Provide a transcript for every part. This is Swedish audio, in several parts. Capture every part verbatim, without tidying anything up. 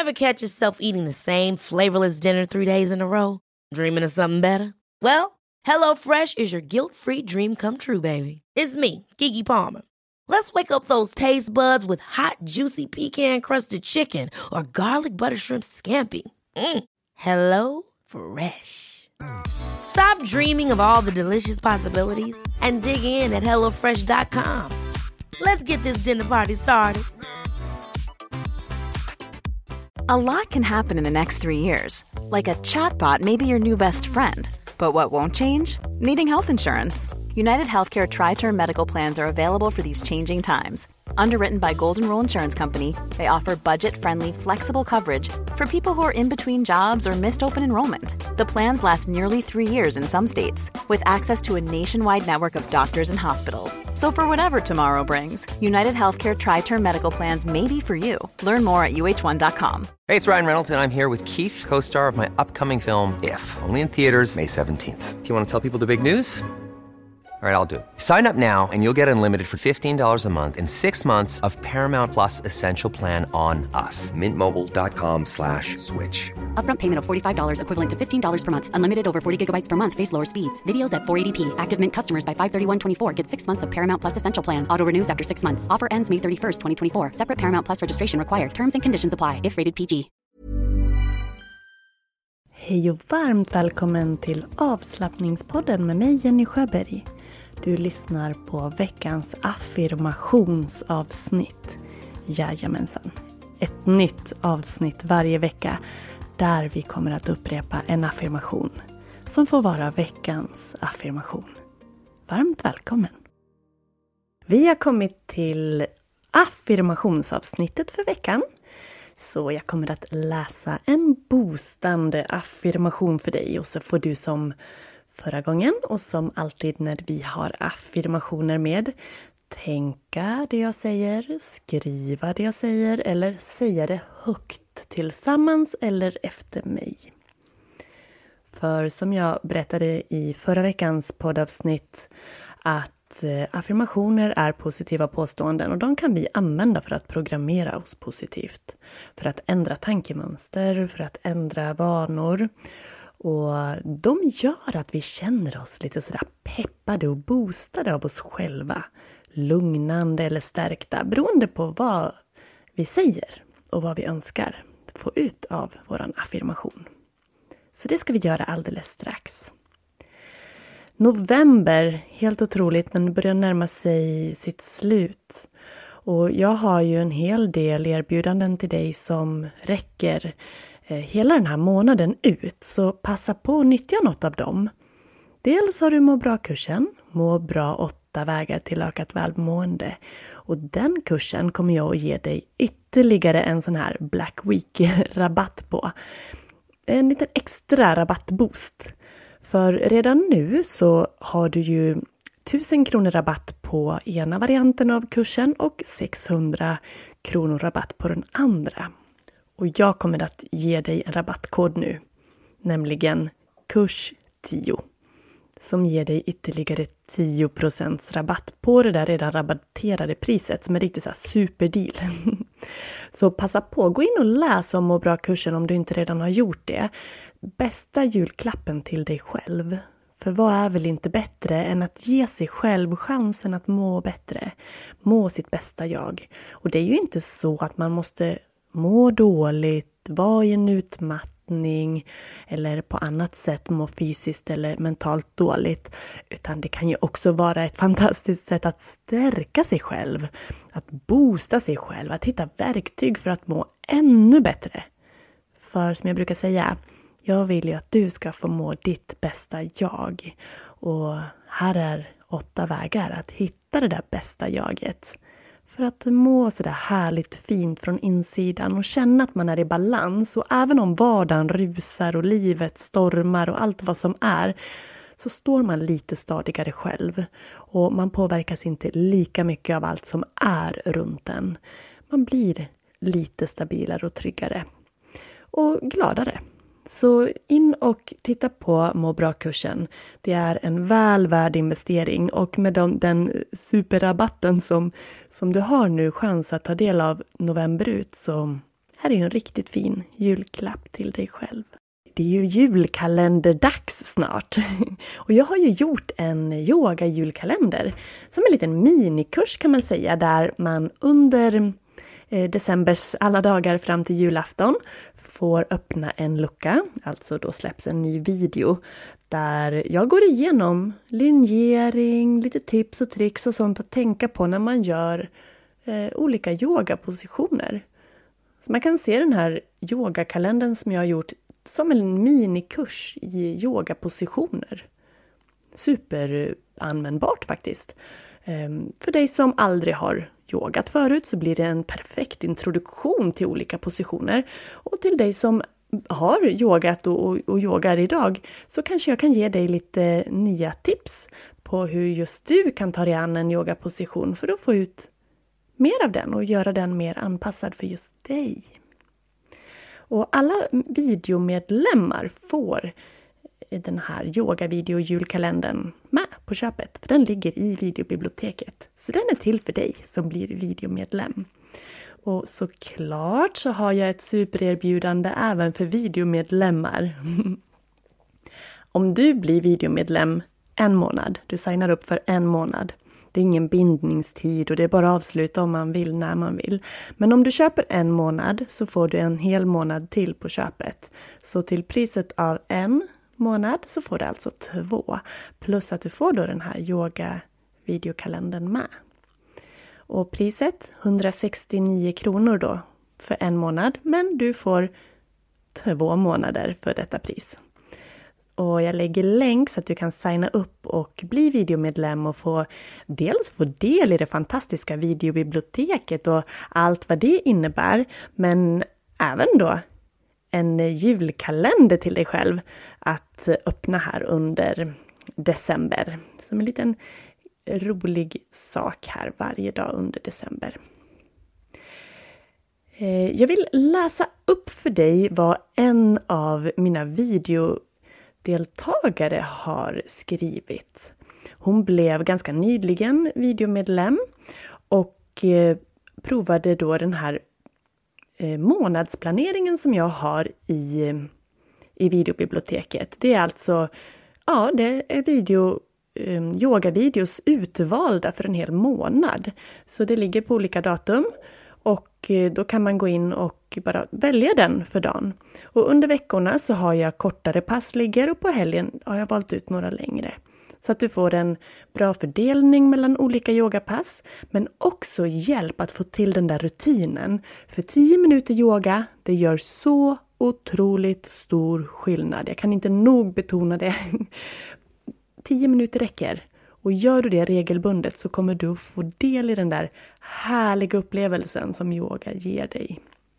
Ever catch yourself eating the same flavorless dinner three days in a row? Dreaming of something better? Well, HelloFresh is your guilt-free dream come true, baby. It's me, Keke Palmer. Let's wake up those taste buds with hot, juicy pecan-crusted chicken or garlic butter shrimp scampi. Mm. Hello Fresh. Stop dreaming of all the delicious possibilities and dig in at hello fresh dot com. Let's get this dinner party started. A lot can happen in the next three years. Like a chatbot may be your new best friend. But what won't change? Needing health insurance. United Healthcare Tri-Term Medical Plans are available for these changing times. Underwritten by Golden Rule Insurance Company, they offer budget-friendly, flexible coverage for people who are in between jobs or missed open enrollment. The plans last nearly three years in some states, with access to a nationwide network of doctors and hospitals. So for whatever tomorrow brings, United Healthcare Tri-Term Medical Plans may be for you. Learn more at U H one dot com. Hey, it's Ryan Reynolds, and I'm here with Keith, co-star of my upcoming film, If, only in theaters May seventeenth. Do you want to tell people the big news? All right, I'll do it. Sign up now and you'll get unlimited for fifteen dollars a month and six months of Paramount Plus Essential Plan on us. Mint Mobile dot com slash switch. Upfront payment of forty-five dollars equivalent to fifteen dollars per month. Unlimited over forty gigabytes per month. Face lower speeds. Videos at four eighty p. Active Mint customers by five thirty-one twenty-four get six months of Paramount Plus Essential Plan. Auto renews after six months. Offer ends May thirty-first, twenty twenty-four. Separate Paramount Plus registration required. Terms and conditions apply if rated P G. Hej och varmt välkommen till avslappningspodden med mig Jenny Sjöberg. Du lyssnar på veckans affirmationsavsnitt. Jajamensan. Ett nytt avsnitt varje vecka där vi kommer att upprepa en affirmation som får vara veckans affirmation. Varmt välkommen! Vi har kommit till affirmationsavsnittet för veckan. Så jag kommer att läsa en boostande affirmation för dig och så får du som förra gången och som alltid när vi har affirmationer med tänka det jag säger, skriva det jag säger eller säga det högt tillsammans eller efter mig. För som jag berättade i förra veckans poddavsnitt att affirmationer är positiva påståenden och de kan vi använda för att programmera oss positivt. För att ändra tankemönster, för att ändra vanor. Och de gör att vi känner oss lite sådär peppade och boostade av oss själva. Lugnande eller stärkta beroende på vad vi säger och vad vi önskar få ut av våran affirmation. Så det ska vi göra alldeles strax. November, helt otroligt men börjar närma sig sitt slut. Och jag har ju en hel del erbjudanden till dig som räcker eh, hela den här månaden ut. Så passa på att nyttja något av dem. Dels har du Må bra-kursen, Må bra åtta vägar till ökat välmående. Och den kursen kommer jag att ge dig ytterligare en sån här Black Week-rabatt på. En liten extra rabattboost. För redan nu så har du ju tusen kronor rabatt på ena varianten av kursen och sexhundra kronor rabatt på den andra. Och jag kommer att ge dig en rabattkod nu, nämligen kurs tio. Som ger dig ytterligare tio procent rabatt på det där redan rabatterade priset som är riktigt så här superdeal. Så passa på, gå in och läs om Må bra-kursen om du inte redan har gjort det. Bästa julklappen till dig själv. För vad är väl inte bättre än att ge sig själv chansen att må bättre. Må sitt bästa jag. Och det är ju inte så att man måste må dåligt, vara i en utmattning eller på annat sätt må fysiskt eller mentalt dåligt. Utan det kan ju också vara ett fantastiskt sätt att stärka sig själv. Att boosta sig själv, att hitta verktyg för att må ännu bättre. För som jag brukar säga, jag vill ju att du ska få må ditt bästa jag. Och här är åtta vägar att hitta det där bästa jaget. För att må sådär härligt fint från insidan och känna att man är i balans. Och även om vardagen rusar och livet stormar och allt vad som är, så står man lite stadigare själv. Och man påverkas inte lika mycket av allt som är runt en. Man blir lite stabilare och tryggare. Och gladare. Så in och titta på Må bra-kursen. Det är en väl värd investering och med de, den superrabatten som, som du har nu chans att ta del av november ut så här är ju en riktigt fin julklapp till dig själv. Det är ju julkalenderdags snart. Och jag har ju gjort en yoga-julkalender. Som en liten minikurs kan man säga. Där man under eh, decembers alla dagar fram till julafton får öppna en lucka. Alltså då släpps en ny video. Där jag går igenom linjering, lite tips och tricks och sånt att tänka på när man gör eh, olika yogapositioner. Så man kan se den här yogakalendern som jag har gjort som en minikurs i yogapositioner. Superanvändbart faktiskt. För dig som aldrig har yogat förut så blir det en perfekt introduktion till olika positioner. Och till dig som har yogat och, och, och yogar idag så kanske jag kan ge dig lite nya tips på hur just du kan ta dig an en yogaposition för att få ut mer av den och göra den mer anpassad för just dig. Och alla videomedlemmar får den här yoga-video-julkalendern med på köpet. För den ligger i videobiblioteket. Så den är till för dig som blir videomedlem. Och såklart så har jag ett supererbjudande även för videomedlemmar. Om du blir videomedlem en månad, du signar upp för en månad. Det är ingen bindningstid och det är bara att avsluta om man vill när man vill. Men om du köper en månad så får du en hel månad till på köpet. Så till priset av en månad så får du alltså två. Plus att du får då den här yoga-videokalendern med. Och priset hundrasextionio kronor då för en månad. Men du får två månader för detta pris. Och jag lägger länk så att du kan signa upp och bli videomedlem och få dels få del i det fantastiska videobiblioteket och allt vad det innebär. Men även då en julkalender till dig själv att öppna här under december. Som en liten rolig sak här varje dag under december. Jag vill läsa upp för dig vad en av mina video deltagare har skrivit. Hon blev ganska nyligen videomedlem och eh, provade då den här eh, månadsplaneringen som jag har i, i videobiblioteket. Det är alltså ja, det är video, eh, yogavideos utvalda för en hel månad. Så det ligger på olika datum. Och då kan man gå in och bara välja den för dagen. Och under veckorna så har jag kortare pass ligger och på helgen har jag valt ut några längre. Så att du får en bra fördelning mellan olika yogapass. Men också hjälp att få till den där rutinen. För tio minuter yoga, det gör så otroligt stor skillnad. Jag kan inte nog betona det. tio minuter räcker. Och gör du det regelbundet så kommer du få del i den där härliga upplevelsen som yoga ger dig.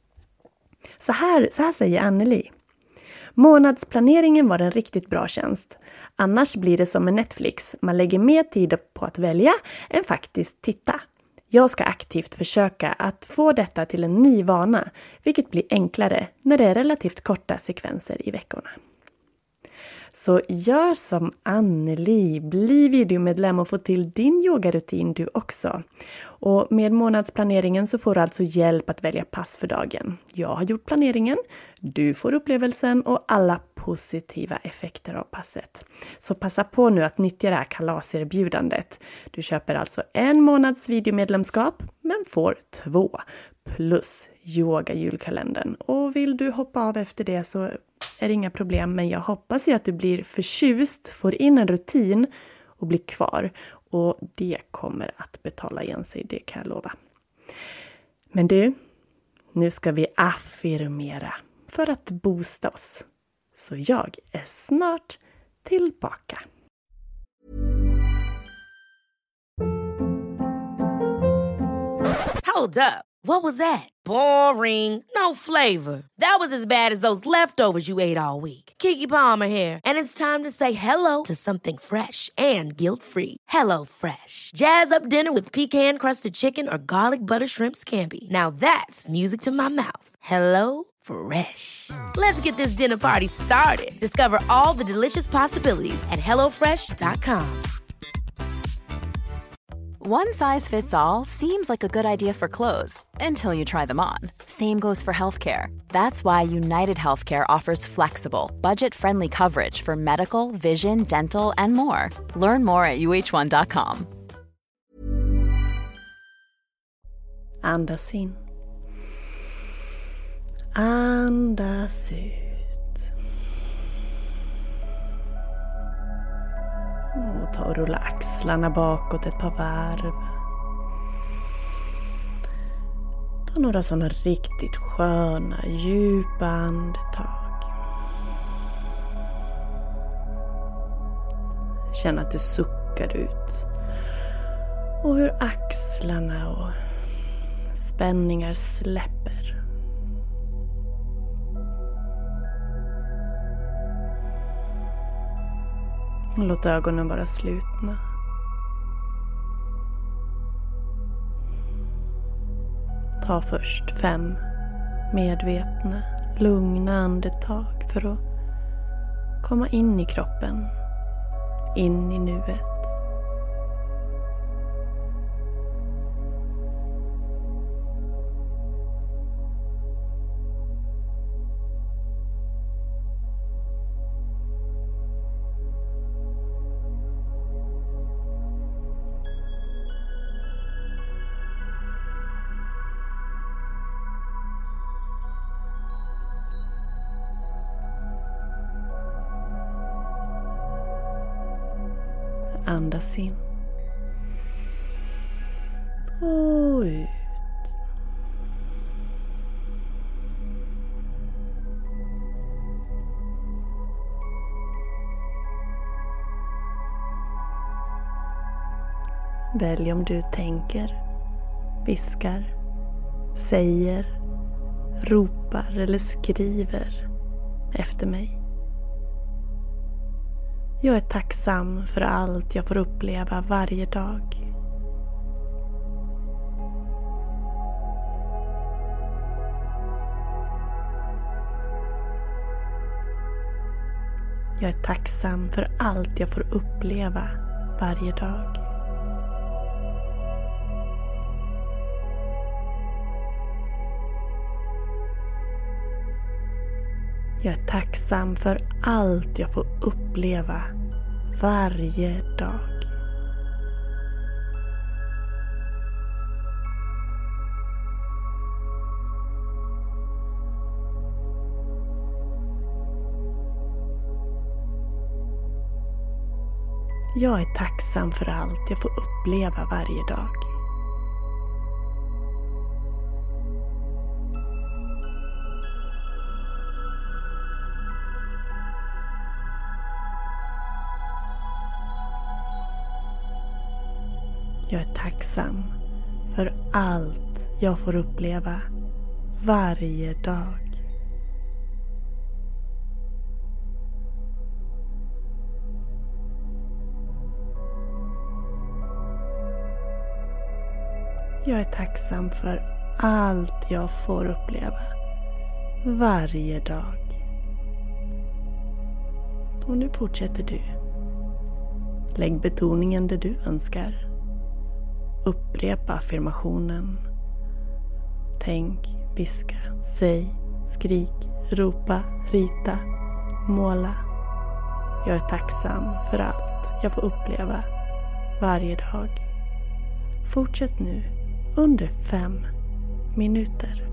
Så här, så här säger Anneli. Månadsplaneringen var en riktigt bra tjänst. Annars blir det som med Netflix. Man lägger mer tid på att välja än faktiskt titta. Jag ska aktivt försöka att få detta till en ny vana. Vilket blir enklare när det är relativt korta sekvenser i veckorna. Så gör som Anneli, bli videomedlem och få till din yogarutin du också. Och med månadsplaneringen så får du alltså hjälp att välja pass för dagen. Jag har gjort planeringen, du får upplevelsen och alla positiva effekter av passet. Så passa på nu att nyttja det här kalaserbjudandet. Du köper alltså en månads videomedlemskap men får två plus yoga-julkalendern. Och vill du hoppa av efter det så är det inga problem, men jag hoppas ju att du blir förtjust, får in en rutin och blir kvar. Och det kommer att betala igen sig, det kan jag lova. Men du, nu ska vi affirmera för att boosta oss. Så jag är snart tillbaka. Hold up. What was that? Boring. No flavor. That was as bad as those leftovers you ate all week. Keke Palmer here. And it's time to say hello to something fresh and guilt-free. Hello Fresh. Jazz up dinner with pecan-crusted chicken or garlic butter shrimp scampi. Now that's music to my mouth. Hello Fresh. Let's get this dinner party started. Discover all the delicious possibilities at hello fresh dot com. One size fits all seems like a good idea for clothes until you try them on. Same goes for healthcare. That's why United Healthcare offers flexible, budget-friendly coverage for medical, vision, dental, and more. Learn more at u h one dot com. Andas in. Andas ut. Och ta och rulla axlarna bakåt ett par varv. Ta några sådana riktigt sköna, djupa andetag. Känn att du suckar ut. Och hur axlarna och spänningar släpper. Och låt ögonen vara slutna. Ta först fem medvetna, lugna andetag för att komma in i kroppen, in i nuet. Andas in. Och ut. Välj om du tänker, viskar, säger, ropar eller skriver efter mig. Jag är tacksam för allt jag får uppleva varje dag. Jag är tacksam för allt jag får uppleva varje dag. Jag är tacksam för allt jag får uppleva varje dag. Jag är tacksam för allt jag får uppleva varje dag. Jag är tacksam för allt jag får uppleva varje dag. Jag är tacksam för allt jag får uppleva varje dag. Och nu fortsätter du. Lägg betoningen där du önskar. Upprepa affirmationen. Tänk, viska, säg, skrik, ropa, rita, måla. Jag är tacksam för allt jag får uppleva varje dag. Fortsätt nu under fem minuter.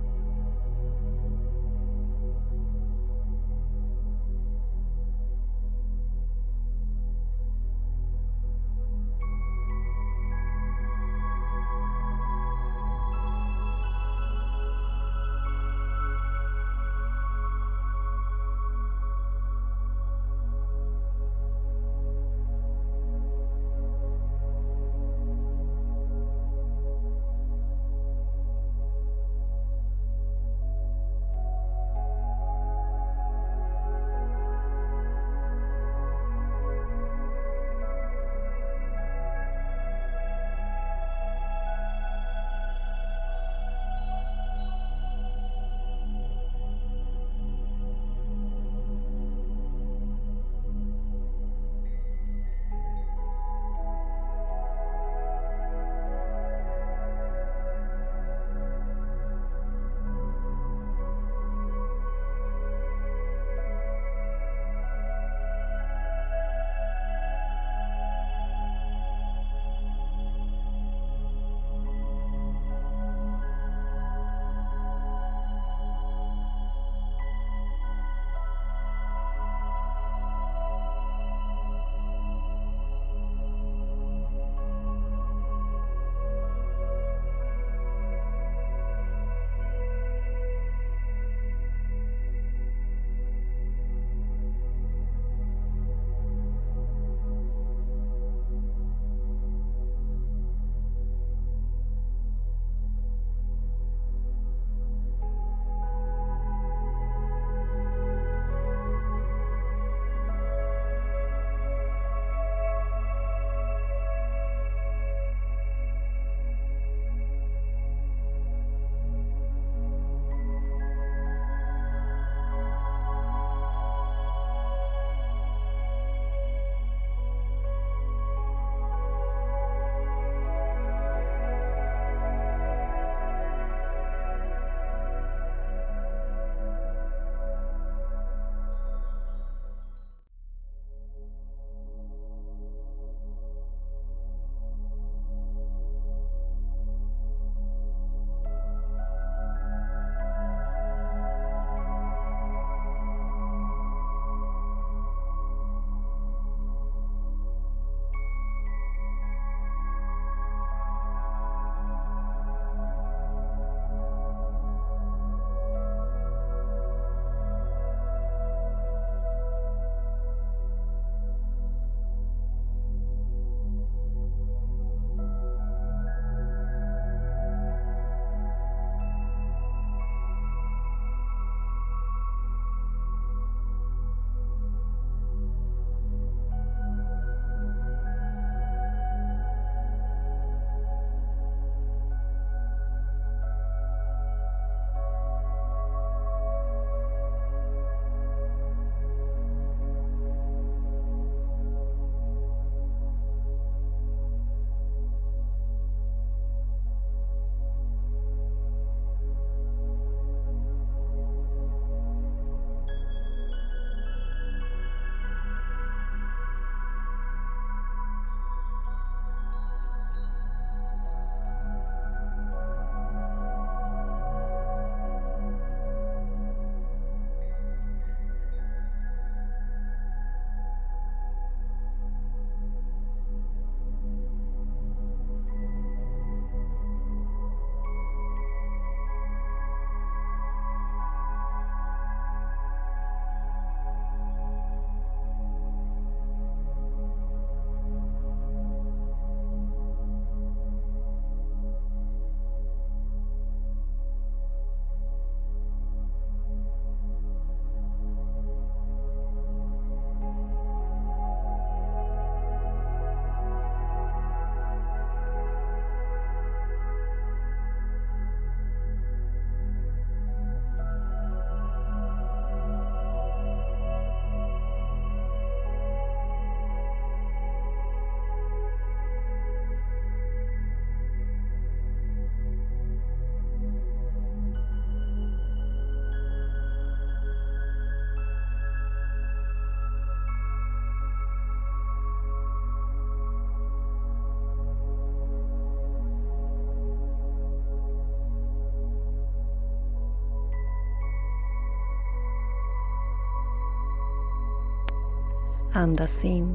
Andas in.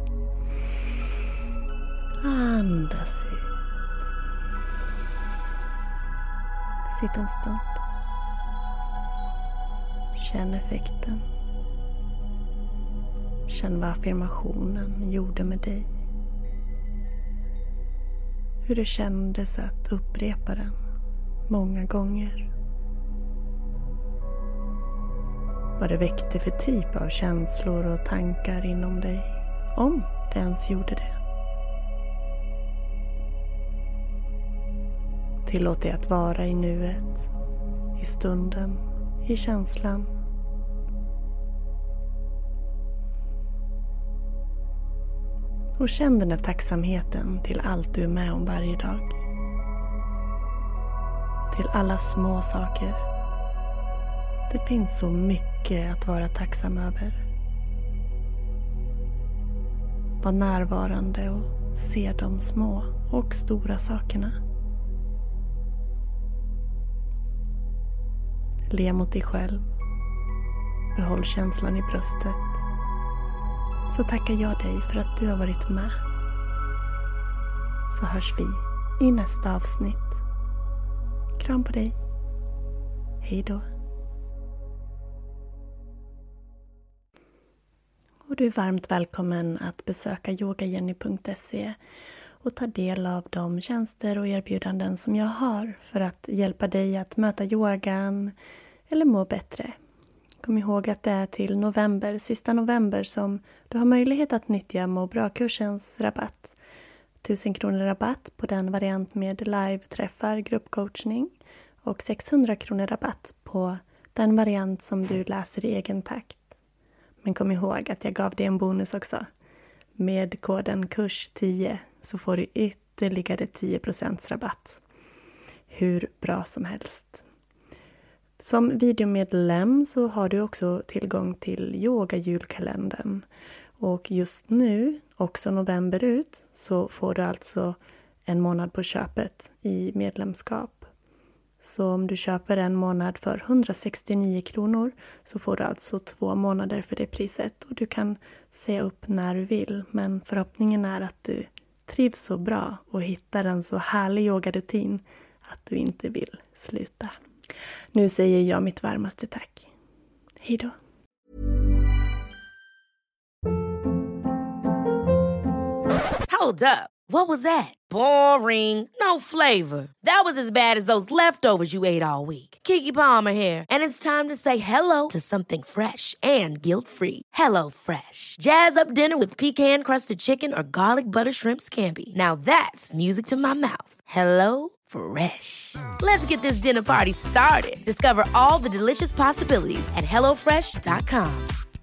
Andas ut. Sitt en stund. Känn effekten. Känn vad affirmationen gjorde med dig. Hur det kändes att upprepa den många gånger. Vad det väckte för typ av känslor och tankar inom dig. Om det ens gjorde det. Tillåt dig att vara i nuet. I stunden. I känslan. Och känn den här tacksamheten till allt du är med om varje dag. Till alla små saker. Det finns så mycket att vara tacksam över. Var närvarande och se de små och stora sakerna. Le mot dig själv. Behåll känslan i bröstet. Så tackar jag dig för att du har varit med. Så hörs vi i nästa avsnitt. Kram på dig. Hej då. Och du är varmt välkommen att besöka yogajenny punkt se och ta del av de tjänster och erbjudanden som jag har för att hjälpa dig att möta yogan eller må bättre. Kom ihåg att det är till november, sista november, som du har möjlighet att nyttja Må bra-kursens rabatt. tusen kronor rabatt på den variant med live-träffar, gruppcoachning, och sexhundra kronor rabatt på den variant som du läser i egen takt. Men kom ihåg att jag gav dig en bonus också. Med koden kurs tio så får du ytterligare tio procent rabatt. Hur bra som helst. Som videomedlem så har du också tillgång till yoga-julkalendern. Och just nu, också november ut, så får du alltså en månad på köpet i medlemskap. Så om du köper en månad för hundrasextionio kronor så får du alltså två månader för det priset. Och du kan säga upp när du vill, men förhoppningen är att du trivs så bra och hittar en så härlig yogarutin att du inte vill sluta. Nu säger jag mitt varmaste tack. Hej då. Hold up. What was that? Boring. No flavor. That was as bad as those leftovers you ate all week. Keke Palmer here, and it's time to say hello to something fresh and guilt-free. Hello Fresh. Jazz up dinner with pecan-crusted chicken or garlic butter shrimp scampi. Now that's music to my mouth. Hello Fresh. Let's get this dinner party started. Discover all the delicious possibilities at hello fresh dot com.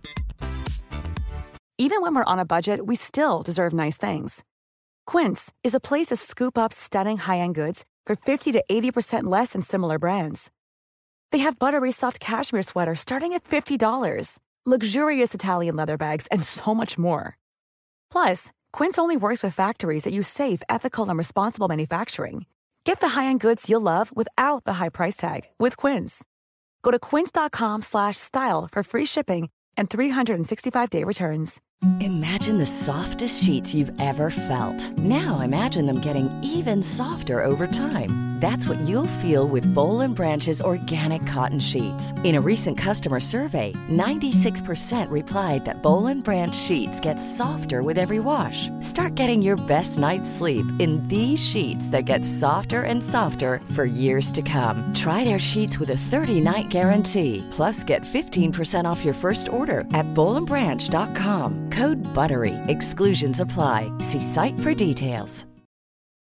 Even when we're on a budget, we still deserve nice things. Quince is a place to scoop up stunning high-end goods for fifty to eighty percent less than similar brands. They have buttery soft cashmere sweaters starting at fifty dollars, luxurious Italian leather bags, and so much more. Plus, Quince only works with factories that use safe, ethical, and responsible manufacturing. Get the high-end goods you'll love without the high price tag with Quince. Go to quince.com slash style for free shipping and three sixty-five day returns. Imagine the softest sheets you've ever felt. Now imagine them getting even softer over time. That's what you'll feel with Boll and Branch's organic cotton sheets. In a recent customer survey, ninety-six percent replied that Boll and Branch sheets get softer with every wash. Start getting your best night's sleep in these sheets that get softer and softer for years to come. Try their sheets with a thirty-night guarantee. Plus, get fifteen percent off your first order at boll and branch dot com. Code BUTTERY. Exclusions apply. See site for details.